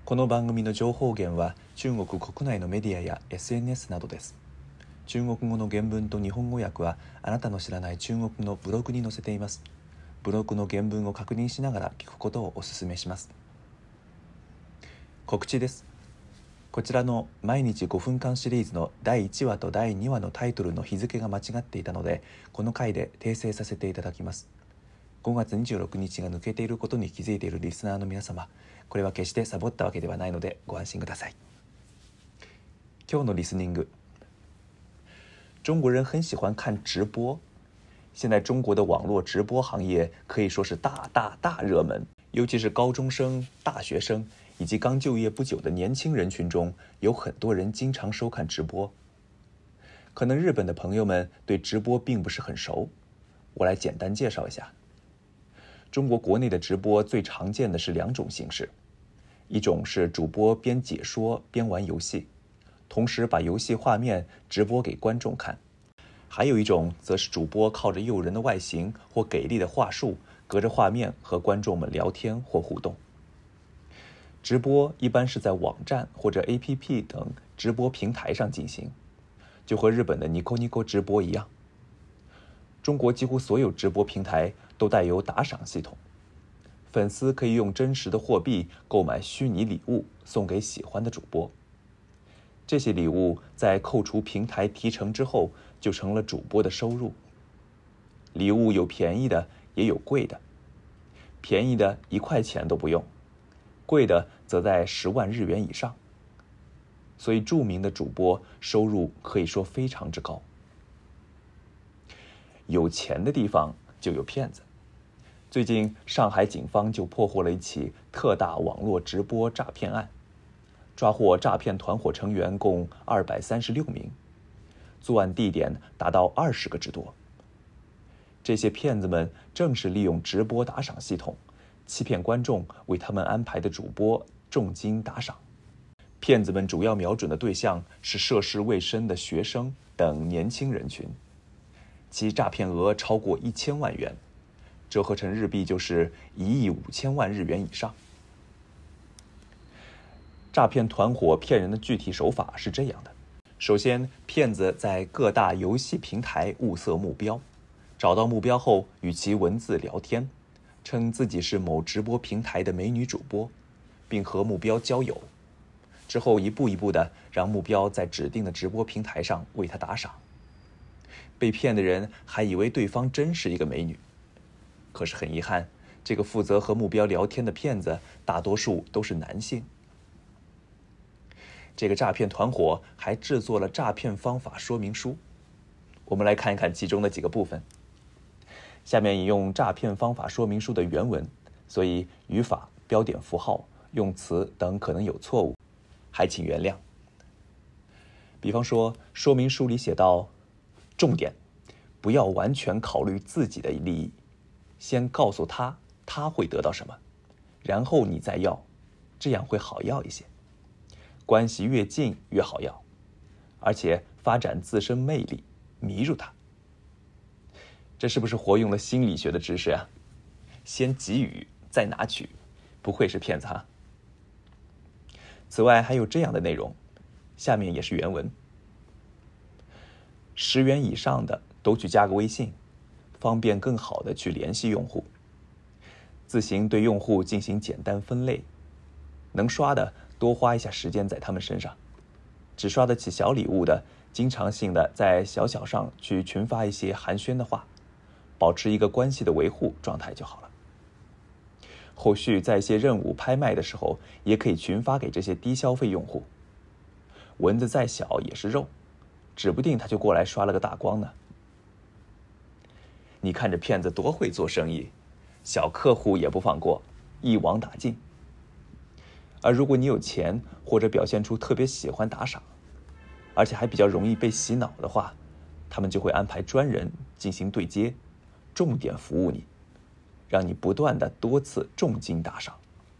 この番組の情報源は中国国内のメディアや SNS などです。中国語の原文と日本語訳はあなたの知らない中国のブログに載せています。ブログの原文を確認しながら聞くことをお勧めします。告知です。こちらの毎日5分間シリーズの第1話と第2話のタイトルの日付が間違っていたので、この回で訂正させていただきます。5月26日が抜けていることに気づいているリスナーの皆様、これは決してサボったわけではないのでご安心ください。今日のリスニング。中国人很喜欢看直播，现在中国的网络直播行业可以说是大热门，尤其是高中生、大学生以及刚就业不久的年轻人群中，有很多人经常收看直播。可能日本的朋友们对直播并不是很熟，我来简单介绍一下。中国国内的直播最常见的是两种形式，一种是主播边解说边玩游戏，同时把游戏画面直播给观众看；还有一种则是主播靠着诱人的外形或给力的话术，隔着画面和观众们聊天或互动。直播一般是在网站或者 APP 等直播平台上进行，就和日本的 Nico Nico 直播一样。中国几乎所有直播平台都带有打赏系统，粉丝可以用真实的货币购买虚拟礼物送给喜欢的主播。这些礼物在扣除平台提成之后，就成了主播的收入。礼物有便宜的，也有贵的。便宜的1块钱都不用，贵的则在10万日元以上。所以著名的主播收入可以说非常之高。有钱的地方就有骗子。最近上海警方就破获了一起特大网络直播诈骗案，抓获诈骗团伙成员共236名，作案地点达到20个之多。这些骗子们正是利用直播打赏系统，欺骗观众为他们安排的主播重金打赏。骗子们主要瞄准的对象是涉世未深的学生等年轻人群，其诈骗额超过1000万元，折合成日币就是1亿5千万日元以上。诈骗团伙骗人的具体手法是这样的：首先，骗子在各大游戏平台物色目标，找到目标后与其文字聊天，称自己是某直播平台的美女主播，并和目标交友。之后一步一步的让目标在指定的直播平台上为他打赏。被骗的人还以为对方真是一个美女，可是很遗憾，这个负责和目标聊天的骗子大多数都是男性。这个诈骗团伙还制作了诈骗方法说明书，我们来看一看其中的几个部分。下面引用诈骗方法说明书的原文，所以语法、标点符号、用词等可能有错误，还请原谅。比方说，说明书里写道：重点，不要完全考虑自己的利益，先告诉他会得到什么，然后你再要，这样会好要一些。关系越近越好要，而且发展自身魅力，迷住他。这是不是活用了心理学的知识啊？先给予再拿取，不愧是骗子哈。此外还有这样的内容，下面也是原文：10元以上的都去加个微信，方便更好的去联系用户。自行对用户进行简单分类，能刷的多花一下时间在他们身上，只刷得起小礼物的，经常性的在小上去群发一些寒暄的话，保持一个关系的维护状态就好了。后续在一些任务拍卖的时候，也可以群发给这些低消费用户。蚊子再小也是肉，指不定他就过来刷了个大光呢。你看这骗子多会做生意，小客户也不放过，一网打尽。而如果你有钱，或者表现出特别喜欢打赏，而且还比较容易被洗脑的话，他们就会安排专人进行对接，重点服务你，让你不断的多次重金打赏。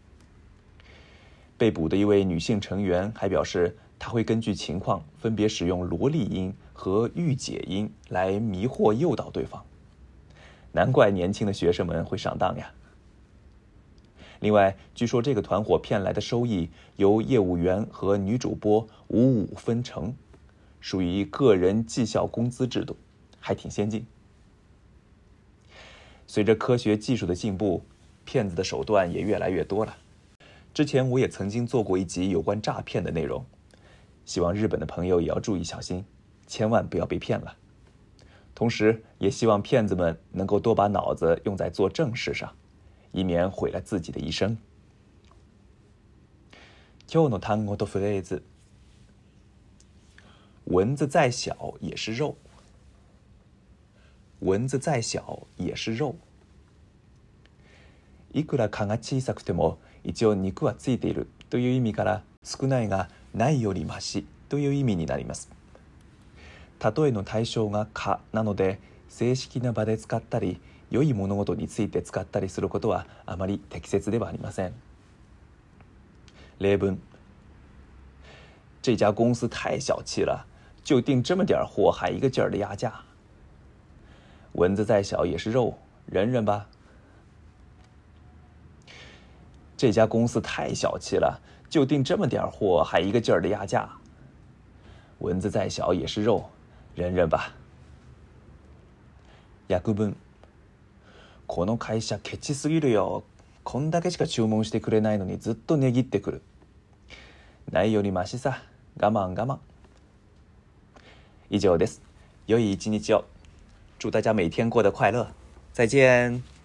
被捕的一位女性成员还表示，她会根据情况分别使用萝莉音和御姐音来迷惑诱导对方。难怪年轻的学生们会上当呀。 另外，据说这个团伙骗来的收益由业务员和女主播55分成，属于个人绩效工资制度，还挺先进。随着科学技术的进步，骗子的手段也越来越多了。之前我也曾经做过一集有关诈骗的内容，希望日本的朋友也要注意小心，千万不要被骗了。同时也希望骗子们能够多把脑子用在做正事上，以免毁了自己的一生。今日の単語とフレーズ。蚊子再小也是肉。蚊子再小也是肉。いくら蚊が小さくても一応肉はついているという意味から少ないがないよりマシという意味になります。例えの対象が蚊なので、正式な場で使ったり良い物事について使ったりすることはあまり適切ではありません。例文：这家公司太小气了，就订这么点货还一个劲儿的压价。蚊子再小也是肉，忍忍吧。这家公司太小气了，就订这么点货还一个劲儿的压价。蚊子再小也是肉，忍忍吧。訳文：この会社ケチすぎるよ。こんだけしか注文してくれないのにずっと値切ってくる。ないよりマシさ。我慢我慢。以上です。良い一日を。祝大家每天过得快乐。再见。